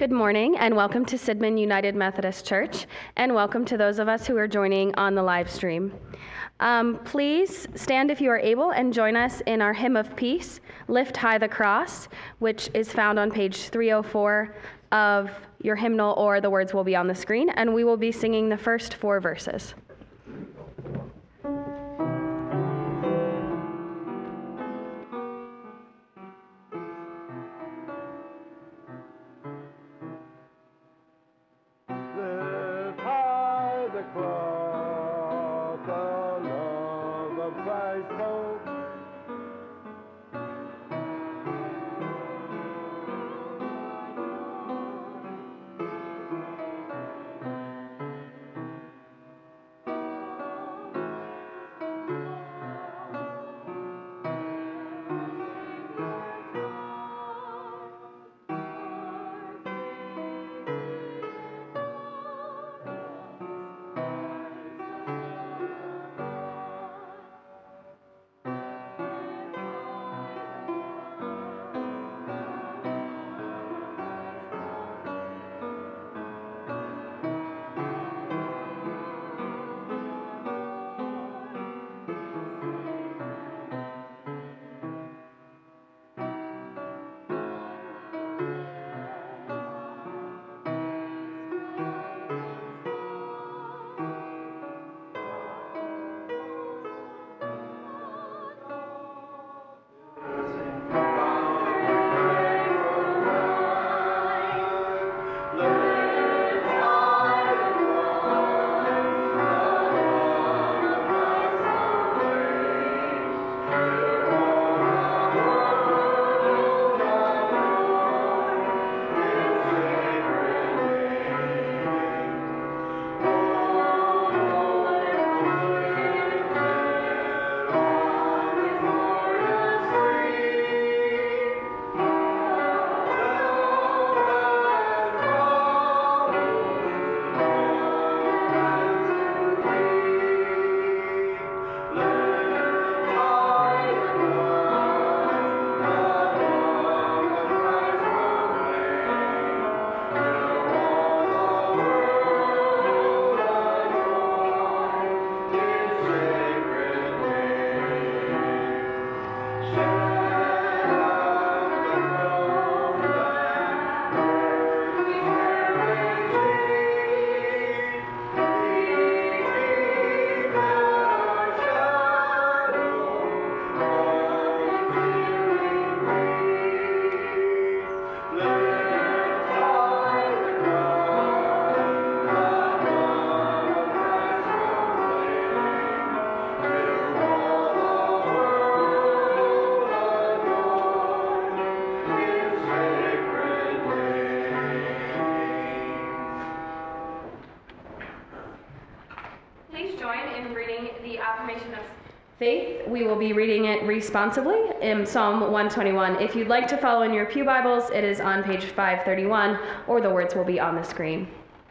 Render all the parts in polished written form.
Good morning and welcome to Sidman United Methodist Church, and welcome to those of us who are joining on the live stream. Please stand if you are able and join us in our hymn of peace, Lift High the Cross, which is found on page 304 of your hymnal, or the words will be on the screen, and we will be singing the first 4 verses. Faith. We will be reading it responsibly in Psalm 121. If you'd like to follow in your pew Bibles, it is on page 531, or the words will be on the screen.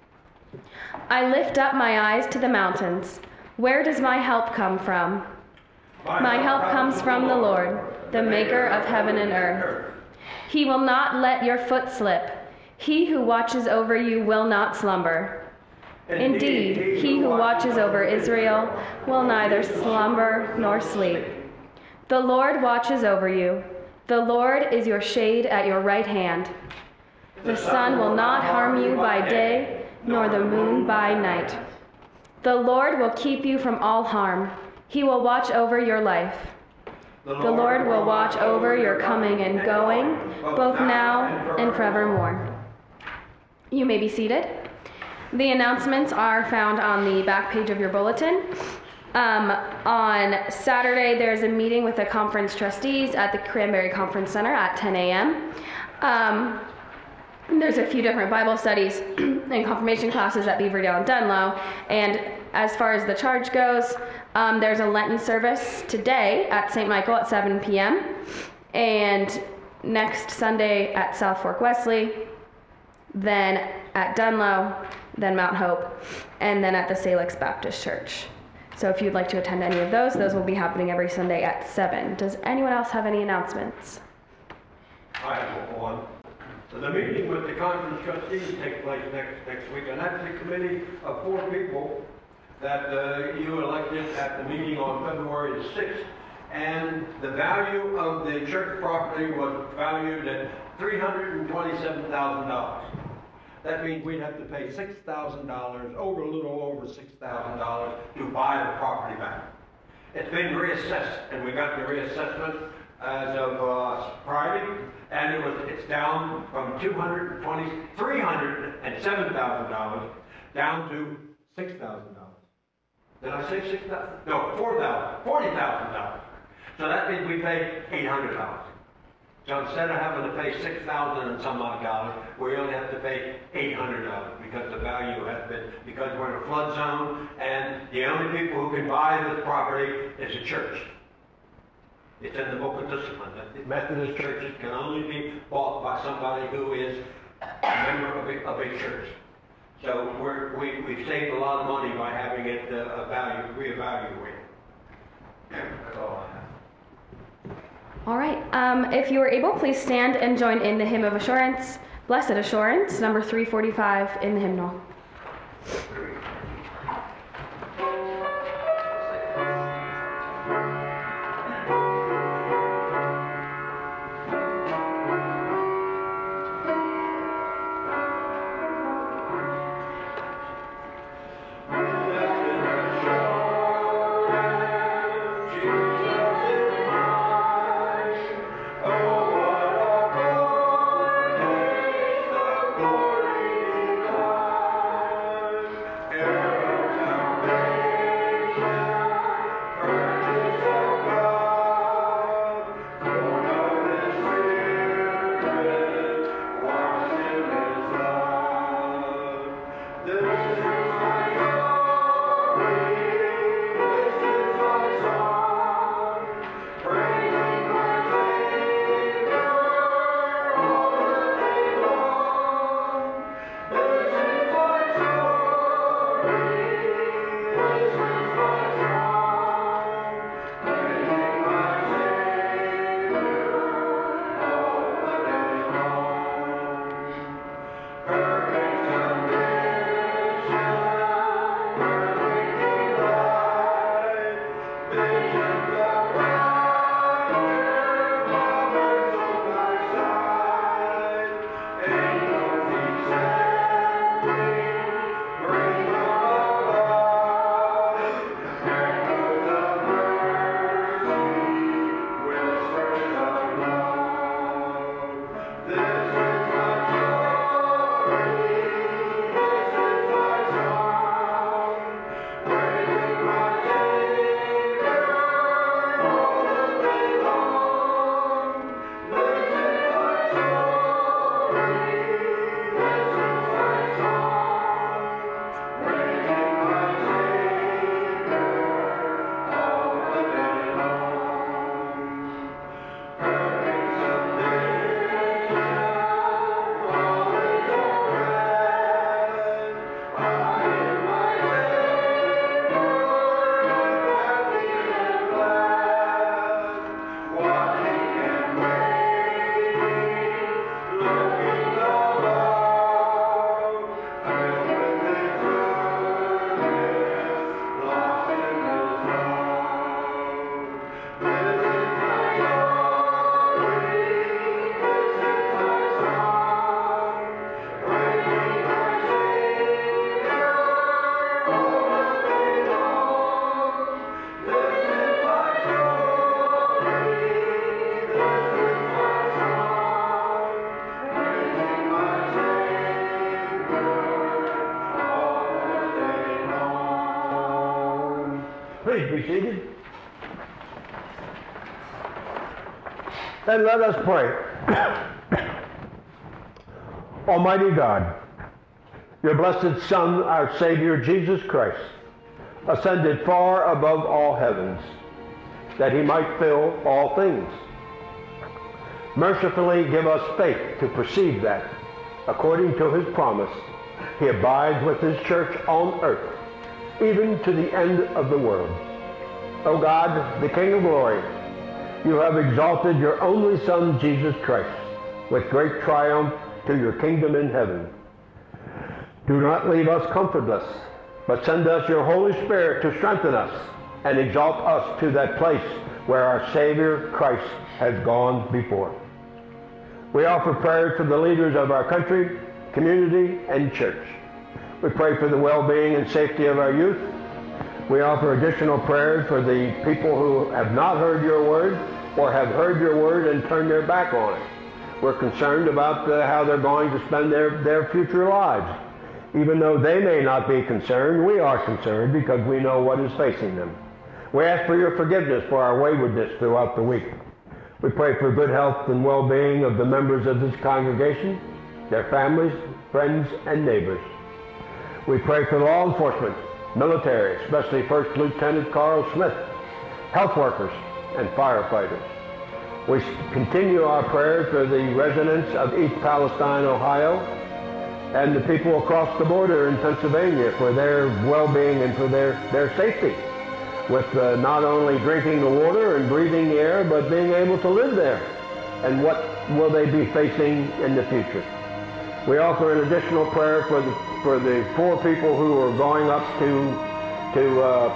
I lift up my eyes to the mountains. Where does my help come from? My help comes from the Lord, the maker of heaven and earth. He will not let your foot slip. He who watches over you will not slumber. Indeed, he who watches over Israel will neither slumber nor sleep. The Lord watches over you. The Lord is your shade at your right hand. The sun will not harm you by day, nor the moon by night. The Lord will keep you from all harm. He will watch over your life. The Lord will watch over your coming and going, both now and forevermore. You may be seated. The announcements are found on the back page of your bulletin. On Saturday, there's a meeting with the conference trustees at the Cranberry Conference Center at 10 a.m. There's a few different Bible studies and confirmation classes at Beaverdale and Dunlow. And as far as the charge goes, there's a Lenten service today at St. Michael at 7 p.m. and next Sunday at South Fork Wesley, then at Dunlow, then Mount Hope, and then at the Salix Baptist Church. So if you'd like to attend any of those will be happening every Sunday at 7. Does anyone else have any announcements? I have one. The meeting with the conference trustees takes place next week, and that's the committee of 4 people that you elected at the meeting on February the 6th. And the value of the church property was valued at $327,000. That means we'd have to pay $6,000, a little over $6,000 to buy the property back. It's been reassessed, and we got the reassessment as of Friday, and it's down from $307,000 down to $6,000. Did I say 6,000? No, $40,000. So that means we pay $800. So instead of having to pay $6,000 and some odd dollars, we only have to pay $800 because the value has been, because we're in a flood zone, and the only people who can buy this property is a church. It's in the book of discipline that the Methodist churches can only be bought by somebody who is a member of a church. So we've saved a lot of money by having it reevaluated. That's all I have. All right. If you are able, please stand and join in the hymn of assurance, Blessed Assurance, number 345 in the hymnal. Please be seated. And let us pray. Almighty God, your blessed Son, our Savior, Jesus Christ, ascended far above all heavens, that he might fill all things. Mercifully give us faith to perceive that, according to his promise, he abides with his church on earth, even to the end of the world. O God, the King of glory, you have exalted your only Son, Jesus Christ, with great triumph to your kingdom in heaven. Do not leave us comfortless, but send us your Holy Spirit to strengthen us and exalt us to that place where our Savior Christ has gone before. We offer prayers for the leaders of our country, community, and church. We pray for the well-being and safety of our youth. We offer additional prayers for the people who have not heard your word or have heard your word and turned their back on it. We're concerned about how they're going to spend their future lives. Even though they may not be concerned, we are concerned because we know what is facing them. We ask for your forgiveness for our waywardness throughout the week. We pray for good health and well-being of the members of this congregation, their families, friends, and neighbors. We pray for law enforcement, military, especially First Lieutenant Carl Smith, health workers, and firefighters. We continue our prayers for the residents of East Palestine, Ohio, and the people across the border in Pennsylvania for their well-being and for their safety, with not only drinking the water and breathing the air, but being able to live there. And what will they be facing in the future? We offer an additional prayer for the 4 people who are going up to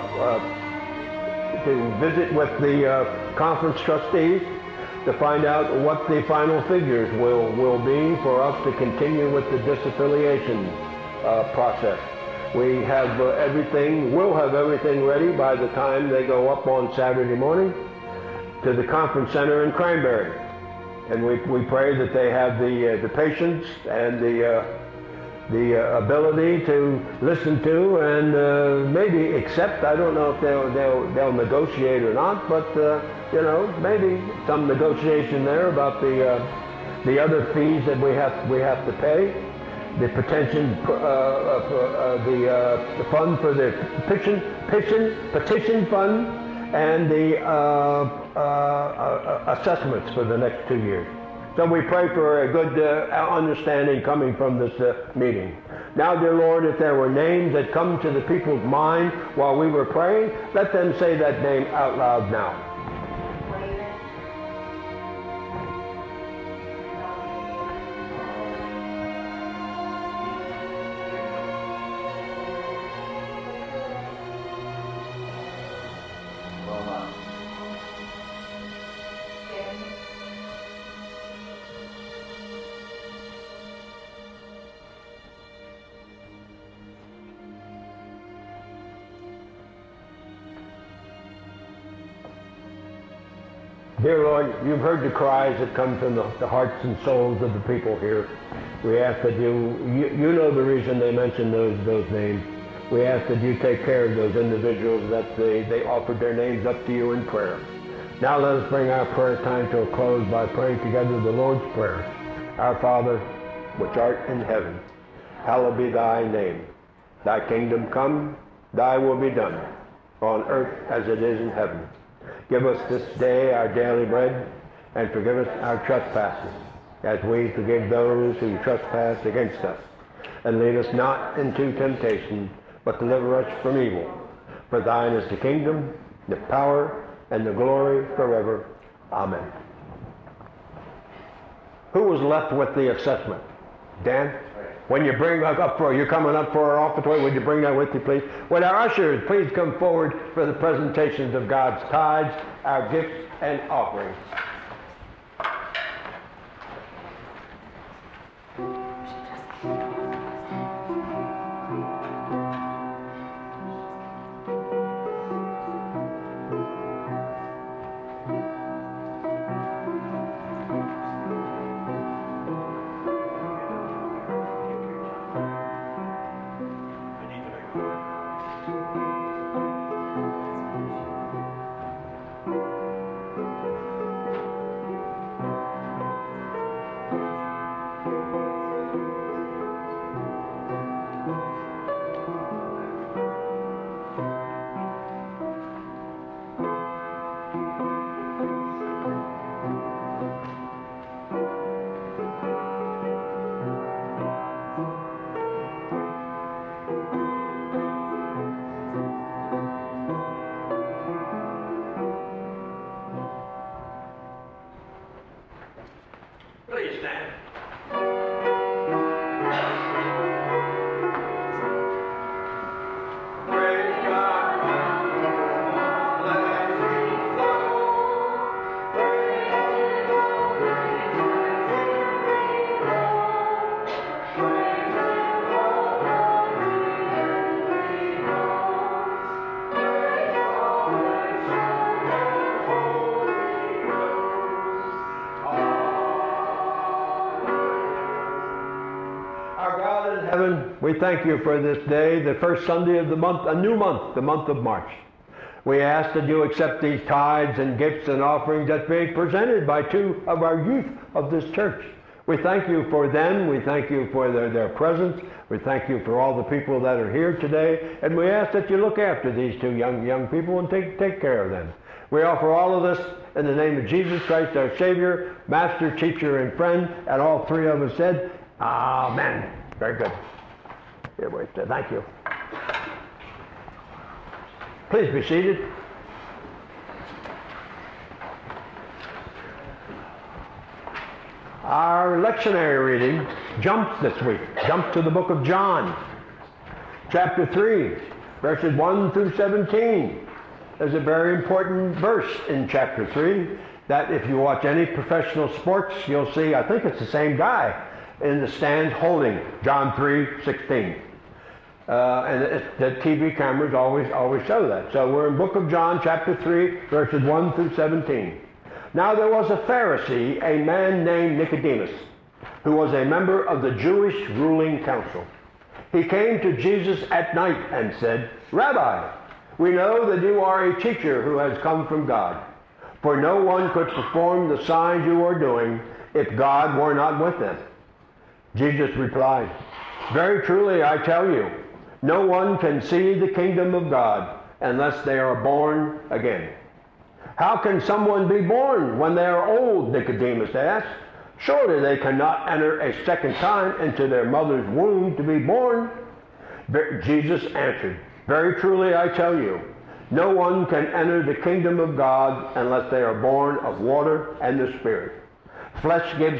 visit with the conference trustees to find out what the final figures will be for us to continue with the disaffiliation process. We have we'll have everything ready by the time they go up on Saturday morning to the conference center in Cranberry. And we pray that they have the patience and the ability to listen to and maybe accept. I don't know if they'll negotiate or not, but maybe some negotiation there about the other fees that we have to pay, the the fund for the petition fund, and the assessments for the next 2 years. So we pray for a good understanding coming from this meeting. Now, dear Lord, if there were names that come to the people's mind while we were praying, let them say that name out loud now. Dear Lord, you've heard the cries that come from the hearts and souls of the people here. We ask that you know the reason they mention those names. We ask that you take care of those individuals, that they offered their names up to you in prayer. Now let us bring our prayer time to a close by praying together the Lord's Prayer. Our Father, which art in heaven, hallowed be thy name. Thy kingdom come, thy will be done, on earth as it is in heaven. Give us this day our daily bread, and forgive us our trespasses, as we forgive those who trespass against us. And lead us not into temptation, but deliver us from evil. For thine is the kingdom, the power, and the glory forever. Amen. Who was left with the assessment? Dan? When you bring you're coming up for our offertory, would you bring that with you, please? Would our ushers please come forward for the presentations of God's tithes, our gifts, and offerings. We thank you for this day, the first Sunday of the month, a new month, the month of March. We ask that you accept these tithes and gifts and offerings that be presented by two of our youth of this church. We thank you for them. We thank you for their presence. We thank you for all the people that are here today. And we ask that you look after these two young people and take care of them. We offer all of this in the name of Jesus Christ, our Savior, Master, Teacher, and Friend. And all three of us said, Amen. Very good. Here, wait. Thank you. Please be seated. Our lectionary reading jumps this week. Jump to the book of John, chapter 3, verses 1 through 17. There's a very important verse in chapter 3 that if you watch any professional sports, you'll see, I think it's the same guy in the stands holding John 3:16. And the TV cameras always show that. So we're in book of John, chapter 3, verses 1 through 17. Now there was a Pharisee, a man named Nicodemus, who was a member of the Jewish ruling council. He came to Jesus at night and said, Rabbi, we know that you are a teacher who has come from God, for no one could perform the signs you are doing if God were not with them. Jesus replied, very truly I tell you, no one can see the kingdom of God unless they are born again. How can someone be born when they are old? Nicodemus asked. Surely they cannot enter a second time into their mother's womb to be born. Jesus answered, very truly I tell you, no one can enter the kingdom of God unless they are born of water and the Spirit. Flesh gives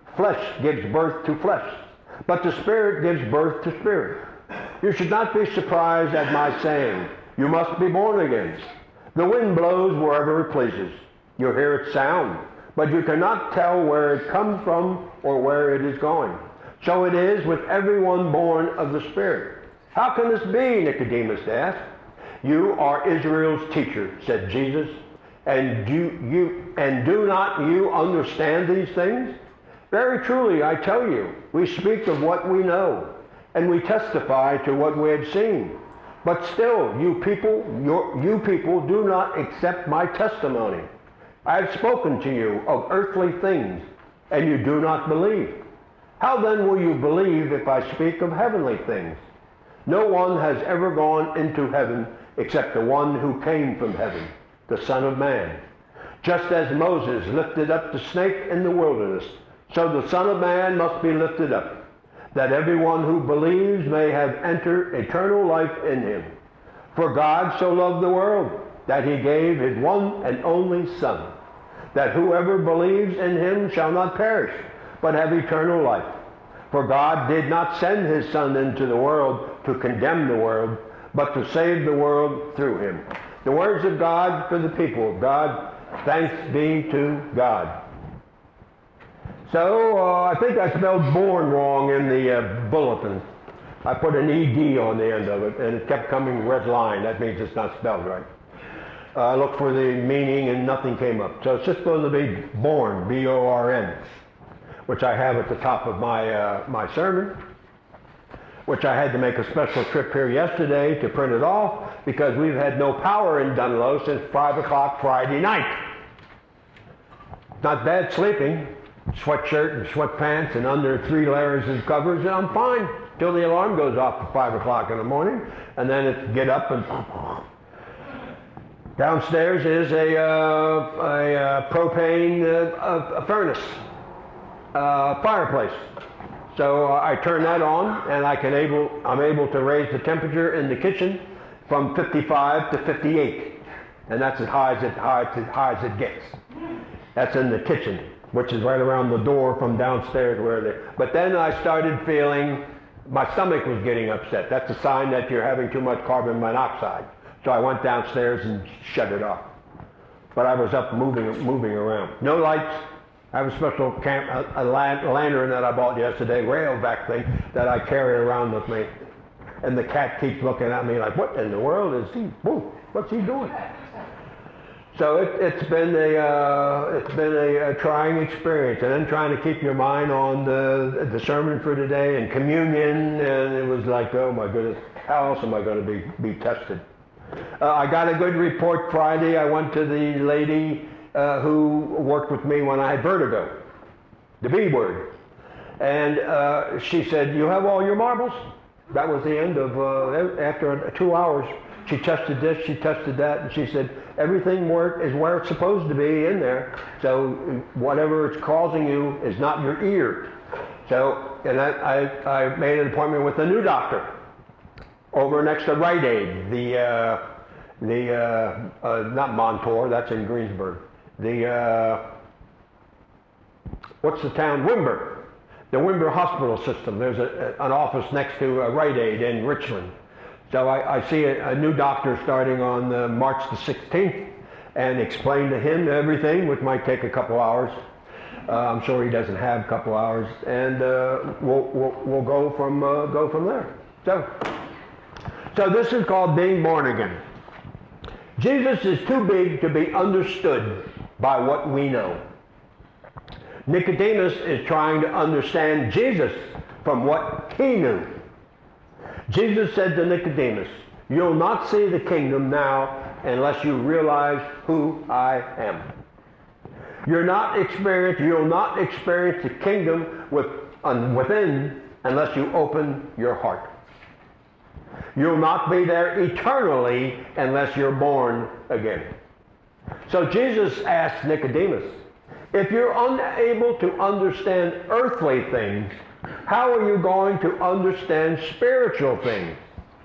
birth to flesh, but the Spirit gives birth to spirit. You should not be surprised at my saying, you must be born again. The wind blows wherever it pleases. You hear its sound, but you cannot tell where it comes from or where it is going. So it is with everyone born of the Spirit. How can this be? Nicodemus asked. You are Israel's teacher, said Jesus, and do not you understand these things? Very truly, I tell you, we speak of what we know, and we testify to what we have seen. But still, you people do not accept my testimony. I have spoken to you of earthly things, and you do not believe. How then will you believe if I speak of heavenly things? No one has ever gone into heaven except the one who came from heaven, the Son of Man. Just as Moses lifted up the snake in the wilderness, so the Son of Man must be lifted up, that everyone who believes may have entered eternal life in him. For God so loved the world that he gave his one and only Son, that whoever believes in him shall not perish, but have eternal life. For God did not send his Son into the world to condemn the world, but to save the world through him. The words of God for the people of God. Thanks be to God. So I think I spelled born wrong in the bulletin. I put an ED on the end of it, and it kept coming red line. That means it's not spelled right. I looked for the meaning, and nothing came up. So it's just supposed to be born, B-O-R-N, which I have at the top of my sermon, which I had to make a special trip here yesterday to print it off because we've had no power in Dunlow since 5 o'clock Friday night. Not bad sleeping. Sweatshirt and sweatpants and under 3 layers of covers, and I'm fine till the alarm goes off at 5 o'clock in the morning, and then it's get up and downstairs is a propane furnace, fireplace. So I turn that on, and I'm able to raise the temperature in the kitchen from 55 to 58, and that's as high as it gets. That's in the kitchen, which is right around the door from downstairs but then I started feeling my stomach was getting upset. That's a sign that you're having too much carbon monoxide. So I went downstairs and shut it off. But I was up moving around. No lights. I have a special lantern that I bought yesterday, Rayovac thing, that I carry around with me. And the cat keeps looking at me like, what in the world is he? Whoa, what's he doing? So it's been a trying experience, and then trying to keep your mind on the sermon for today and communion, and it was like, oh my goodness, how else am I going to be tested? I got a good report Friday. I went to the lady who worked with me when I had vertigo, the B word, and she said, "You have all your marbles?" That was the end of after 2 hours. She tested this, she tested that, and she said, everything is where it's supposed to be in there. So whatever it's causing you is not your ear. So, and I made an appointment with a new doctor over next to Rite Aid, not Montour, that's in Greensburg. What's the town? Wimber. The Wimber Hospital System. There's an office next to Rite Aid in Richland. So I see a new doctor starting on March the 16th and explain to him everything, which might take a couple hours. I'm sure he doesn't have a couple hours, and we'll go from there. So this is called being born again. Jesus is too big to be understood by what we know. Nicodemus is trying to understand Jesus from what he knew. Jesus said to Nicodemus, "You'll not see the kingdom now unless you realize who I am." You'll not experience the kingdom within unless you open your heart. You'll not be there eternally unless you're born again. So Jesus asked Nicodemus, if you're unable to understand earthly things, how are you going to understand spiritual things?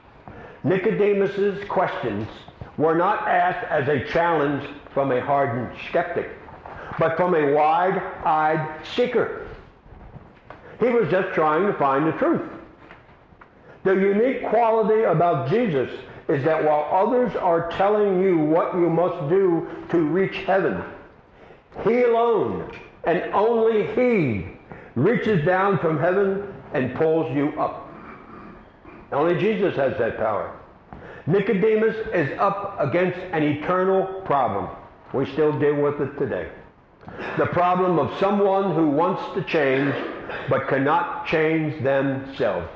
Nicodemus's questions were not asked as a challenge from a hardened skeptic, but from a wide-eyed seeker. He was just trying to find the truth. The unique quality about Jesus is that while others are telling you what you must do to reach heaven, he alone, and only he, reaches down from heaven and pulls you up. Only Jesus has that power. Nicodemus is up against an eternal problem. We still deal with it today. The problem of someone who wants to change but cannot change themselves.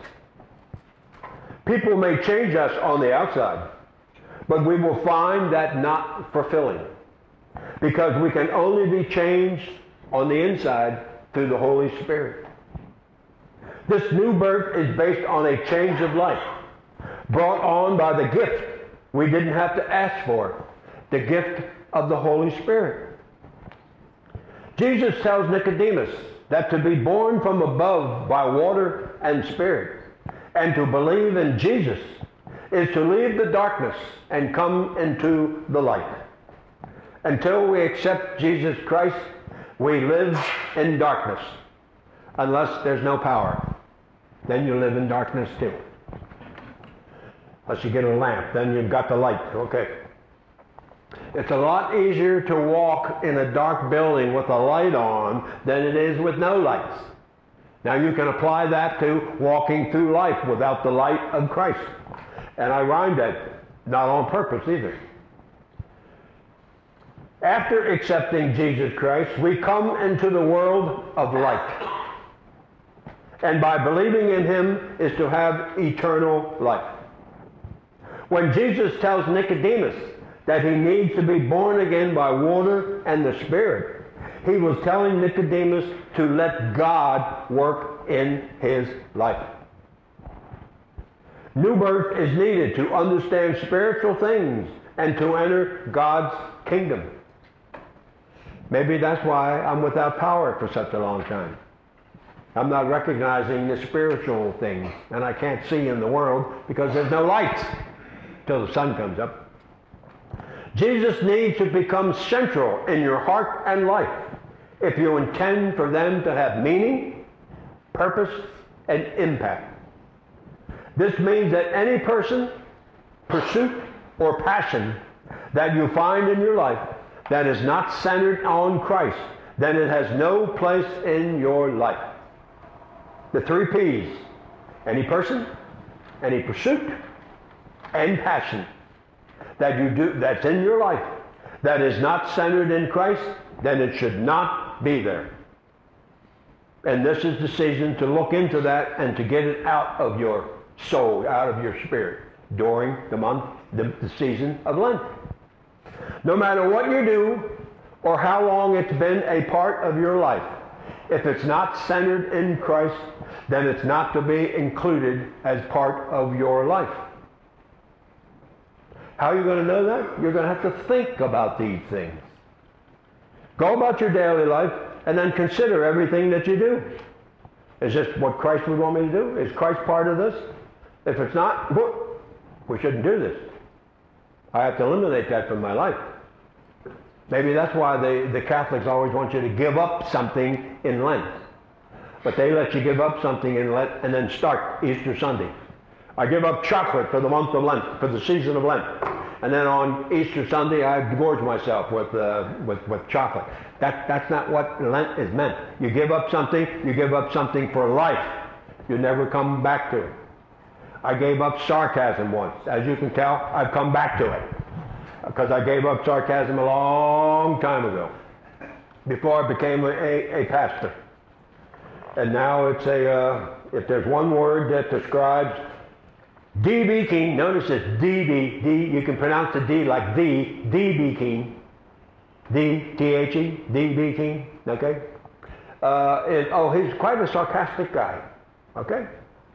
People may change us on the outside, but we will find that not fulfilling, because we can only be changed on the inside through the Holy Spirit. This new birth is based on a change of life, brought on by the gift we didn't have to ask for, the gift of the Holy Spirit. Jesus tells Nicodemus that to be born from above by water and Spirit, and to believe in Jesus, is to leave the darkness and come into the light. Until we accept Jesus Christ, we live in darkness, unless there's no power. Then you live in darkness too. Unless you get a lamp, then you've got the light. Okay. It's a lot easier to walk in a dark building with a light on than it is with no lights. Now you can apply that to walking through life without the light of Christ. And I rhymed that, not on purpose either. After accepting Jesus Christ, we come into the world of light. And by believing in him is to have eternal life. When Jesus tells Nicodemus that he needs to be born again by water and the Spirit, he was telling Nicodemus to let God work in his life. New birth is needed to understand spiritual things and to enter God's kingdom. Maybe that's why I'm without power for such a long time. I'm not recognizing the spiritual things, and I can't see in the world because there's no light till the sun comes up. Jesus needs to become central in your heart and life if you intend for them to have meaning, purpose, and impact. This means that any person, pursuit, or passion that you find in your life that is not centered on Christ, then it has no place in your life. The 3 P's: any person, any pursuit, and passion that you do that's in your life that is not centered in Christ, then it should not be there. And this is the season to look into that and to get it out of your soul, out of your spirit, during the month, the season of Lent. No matter what you do or how long it's been a part of your life, if it's not centered in Christ, then it's not to be included as part of your life. How are you going to know that? You're going to have to think about these things. Go about your daily life and then consider everything that you do. Is this what Christ would want me to do? Is Christ part of this? If it's not, we shouldn't do this. I have to eliminate that from my life. Maybe that's why the Catholics always want you to give up something in Lent. But they let you give up something in Lent and then start Easter Sunday. I give up chocolate for the month of Lent, for the season of Lent. And then on Easter Sunday, I gorge myself with chocolate. That's not what Lent is meant. You give up something for life. You never come back to it. I gave up sarcasm once. As you can tell, I've come back to it. Because I gave up sarcasm a long time ago, before I became a pastor. And now it's if there's one word that describes D.B. King, notice it's D.B., you can pronounce the D like D.B. King, D.T.H.E., D.B. King, okay? He's quite a sarcastic guy, okay?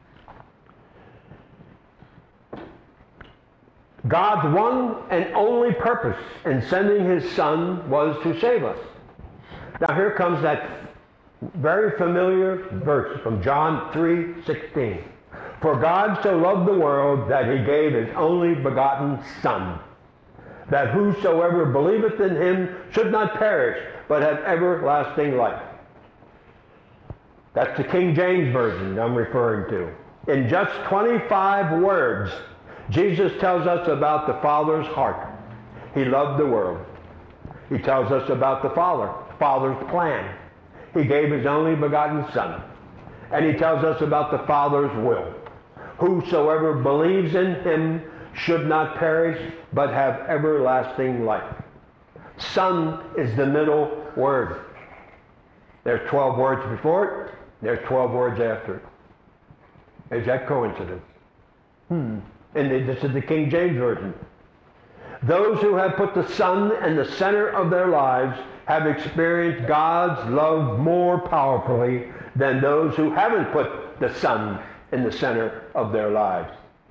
God's one and only purpose in sending His Son was to save us. Now here comes that very familiar verse from John 3:16. For God so loved the world that He gave His only begotten Son, that whosoever believeth in Him should not perish, but have everlasting life. That's the King James Version I'm referring to. In just 25 words, Jesus tells us about the Father's heart. He loved the world. He tells us about the Father's plan. He gave His only begotten Son. And He tells us about the Father's will. Whosoever believes in Him should not perish, but have everlasting life. Son is the middle word. There's 12 words before it. There's 12 words after it. Is that coincidence? And this is the King James Version. Those who have put the Son in the center of their lives have experienced God's love more powerfully than those who haven't put the Son in the center of their lives.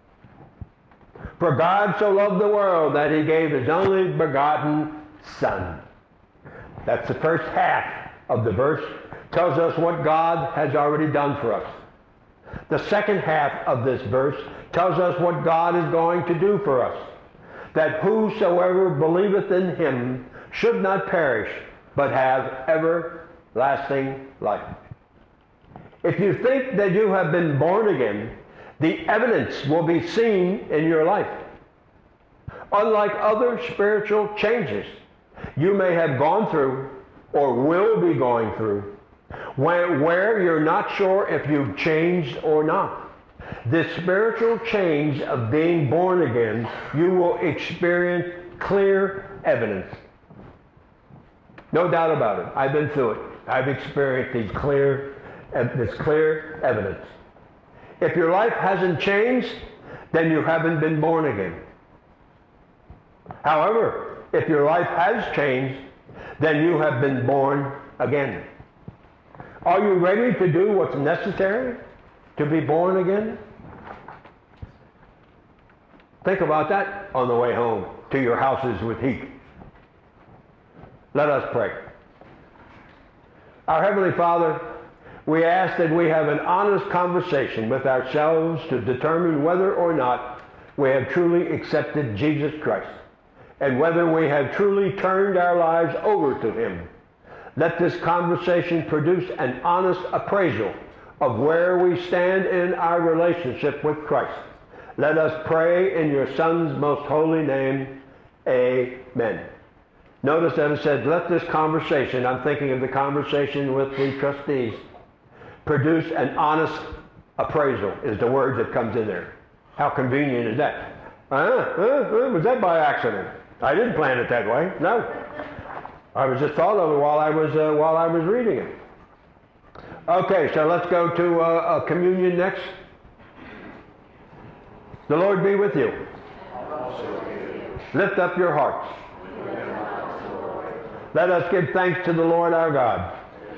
For God so loved the world that He gave His only begotten Son. That's the first half of the verse. Tells us what God has already done for us. The second half of this verse tells us what God is going to do for us. That whosoever believeth in Him should not perish, but have everlasting life. If you think that you have been born again, the evidence will be seen in your life. Unlike other spiritual changes you may have gone through or will be going through, where you're not sure if you've changed or not. This spiritual change of being born again, you will experience clear evidence. No doubt about it. I've been through it. I've experienced this clear evidence. If your life hasn't changed, then you haven't been born again. However, if your life has changed, then you have been born again. Are you ready to do what's necessary to be born again? Think about that on the way home to your houses with heat. Let us pray. Our Heavenly Father, we ask that we have an honest conversation with ourselves to determine whether or not we have truly accepted Jesus Christ and whether we have truly turned our lives over to Him. Let this conversation produce an honest appraisal of where we stand in our relationship with Christ. Let us pray in your Son's most holy name. Amen. Notice that it said, let this conversation, I'm thinking of the conversation with the trustees, produce an honest appraisal is the word that comes in there. How convenient is that? Was that by accident? I didn't plan it that way. No. I was just thought of it while I was reading it. Okay, so let's go to communion next. The Lord be with you. Lift up your hearts. Let us give thanks to the Lord our God.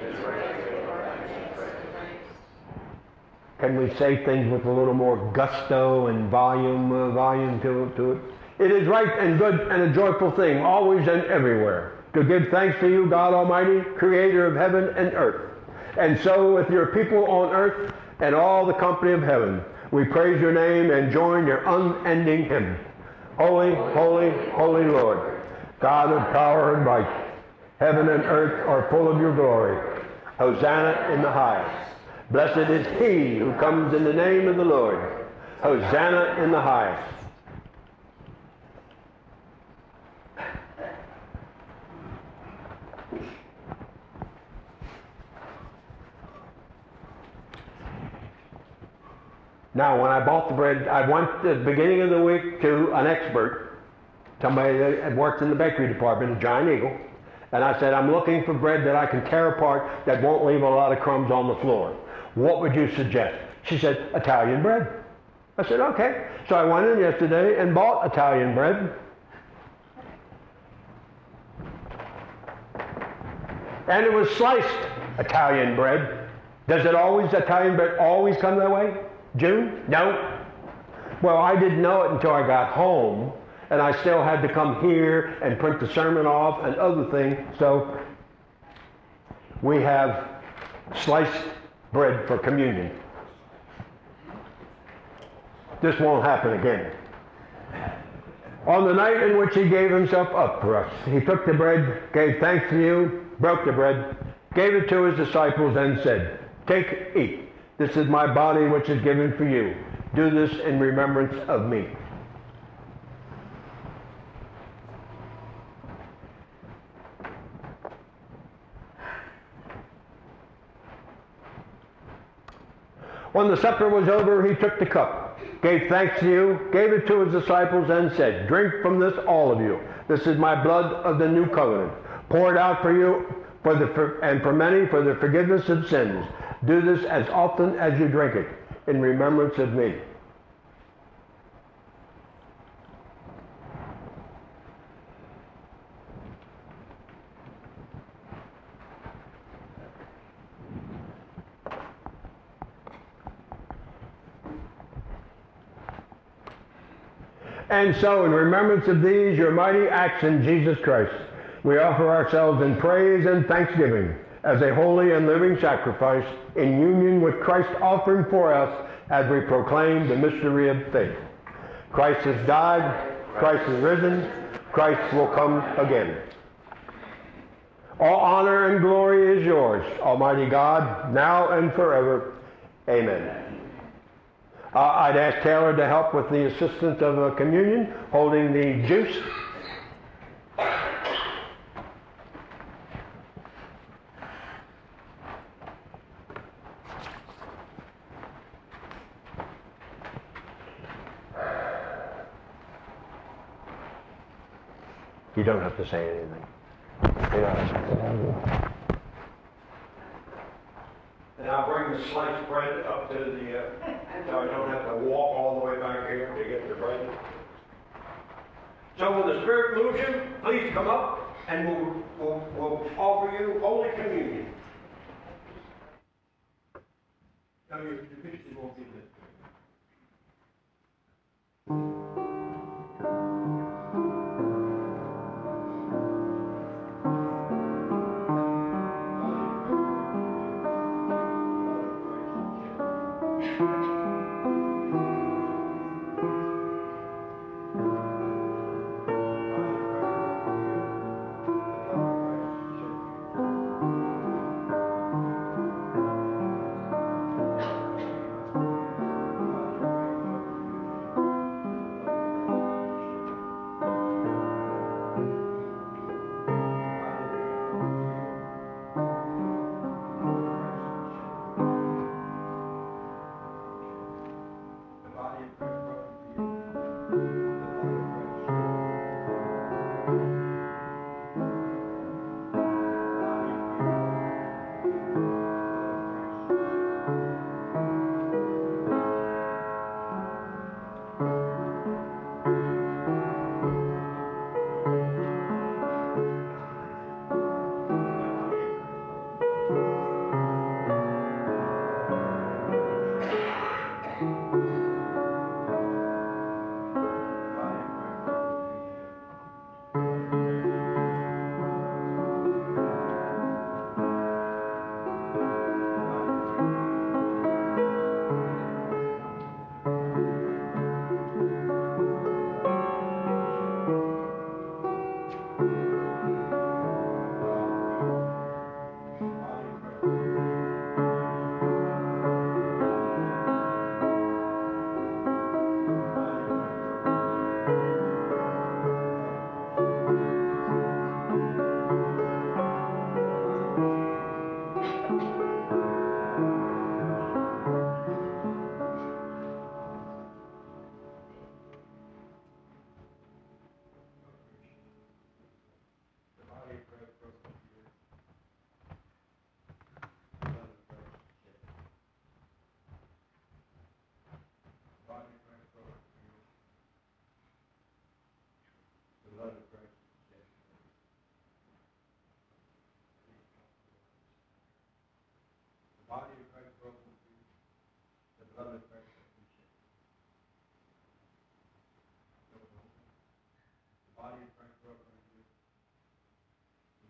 Can we say things with a little more gusto and volume to it? It is right and good and a joyful thing, always and everywhere, to give thanks to you, God Almighty, creator of heaven and earth. And so with your people on earth and all the company of heaven, we praise your name and join your unending hymn. Holy, holy, holy Lord, God of power and might, heaven and earth are full of your glory. Hosanna in the highest. Blessed is he who comes in the name of the Lord. Hosanna in the highest. Now, when I bought the bread, I went at the beginning of the week to an expert, somebody that had worked in the bakery department at Giant Eagle, and I said, I'm looking for bread that I can tear apart that won't leave a lot of crumbs on the floor. What would you suggest? She said, Italian bread. I said, okay. So I went in yesterday and bought Italian bread. And it was sliced Italian bread. Does Italian bread always come that way? June? No. Well, I didn't know it until I got home, and I still had to come here and print the sermon off and other things. So we have sliced bread for communion. This won't happen again. On the night in which he gave himself up for us, he took the bread, gave thanks to you, broke the bread, gave it to his disciples, and said, take, eat. This is my body which is given for you. Do this in remembrance of me. When the supper was over, he took the cup, gave thanks to you, gave it to his disciples, and said, drink from this, all of you. This is my blood of the new covenant, poured out for you and for many for the forgiveness of sins. Do this as often as you drink it, in remembrance of me. And so, in remembrance of these, your mighty acts in Jesus Christ, we offer ourselves in praise and thanksgiving as a holy and living sacrifice in union with Christ's offering for us as we proclaim the mystery of faith. Christ has died, Christ has risen, Christ will come again. All honor and glory is yours, Almighty God, now and forever. Amen. I'd ask Taylor to help with the assistance of communion, holding the juice. You don't have to say anything. And I'll bring the sliced bread up to the, so I don't have to walk all the way back here to get the bread. So when the Spirit moves you, please come up and we'll offer you Holy Communion. Now your picture won't be this.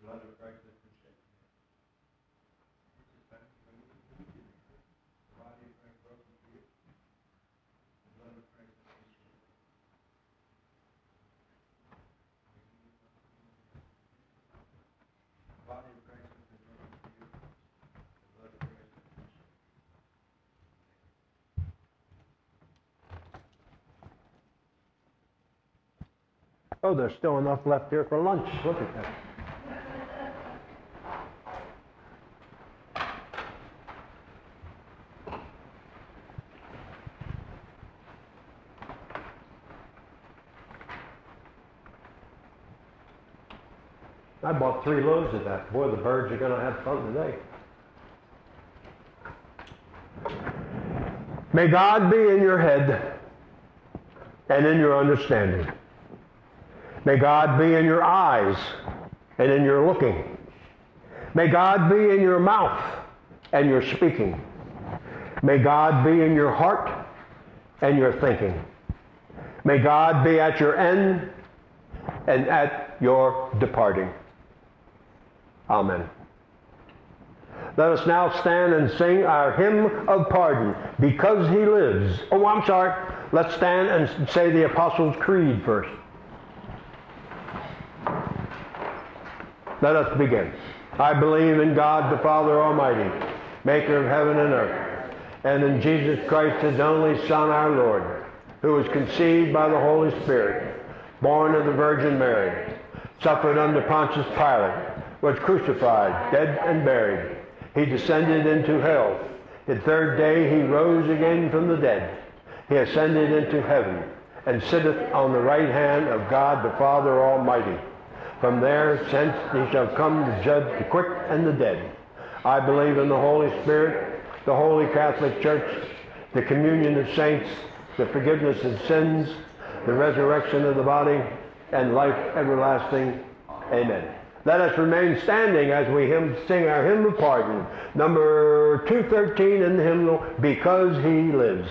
blood of Christ has been shed. The body of Christ broken for you. The blood of Christ has been shed. The body of Christ has been broken for you. The blood of Christ has been shed. Oh, there's still enough left here for lunch. Look at that. I bought 3 loaves of that. Boy, the birds are going to have fun today. May God be in your head and in your understanding. May God be in your eyes and in your looking. May God be in your mouth and your speaking. May God be in your heart and your thinking. May God be at your end and at your departing. Amen. Let us now stand and sing our hymn of pardon, Because He Lives. Oh, I'm sorry. Let's stand and say the Apostles' Creed first. Let us begin. I believe in God the Father Almighty, maker of heaven and earth, and in Jesus Christ, His only Son, our Lord, who was conceived by the Holy Spirit, born of the Virgin Mary, suffered under Pontius Pilate, was crucified, dead and buried. He descended into hell. The third day He rose again from the dead. He ascended into heaven, and sitteth on the right hand of God the Father Almighty. From there, since He shall come to judge the quick and the dead. I believe in the Holy Spirit, the Holy Catholic Church, the communion of saints, the forgiveness of sins, the resurrection of the body, and life everlasting. Amen. Let us remain standing as we sing our hymn of pardon, number 213 in the hymnal, Because He Lives.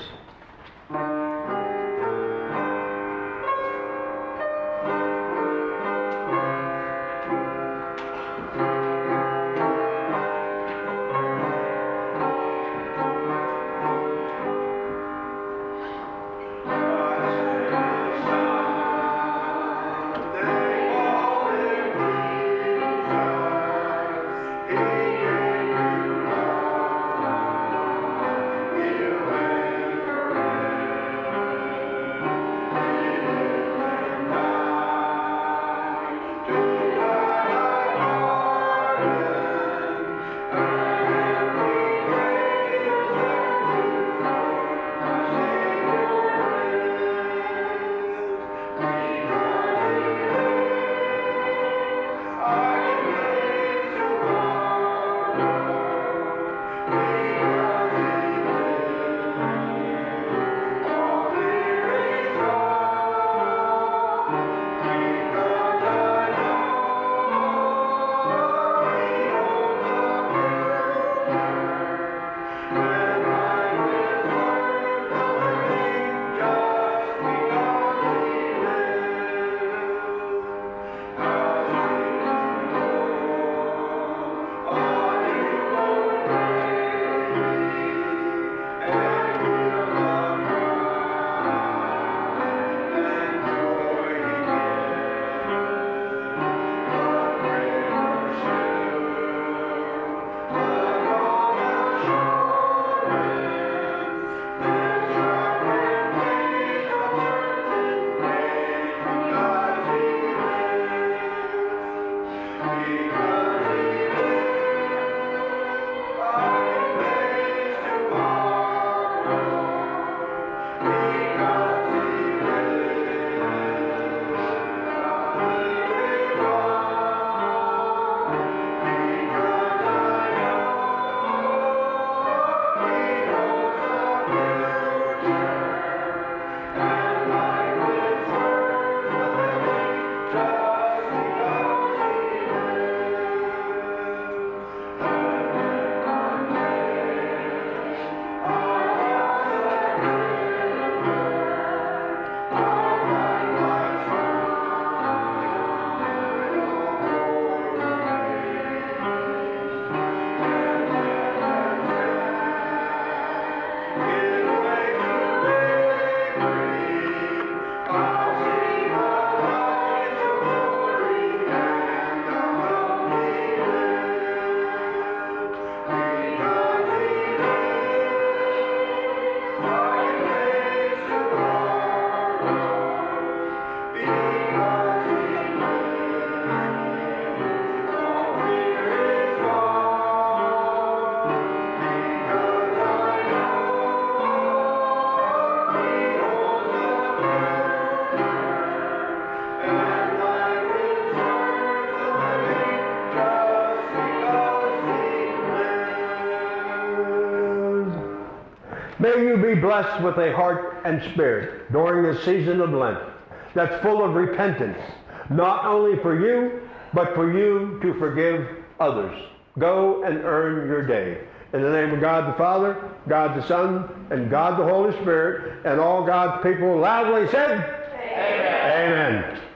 May you be blessed with a heart and spirit during this season of Lent that's full of repentance, not only for you, but for you to forgive others. Go and earn your day. In the name of God the Father, God the Son, and God the Holy Spirit, and all God's people loudly said, Amen. Amen.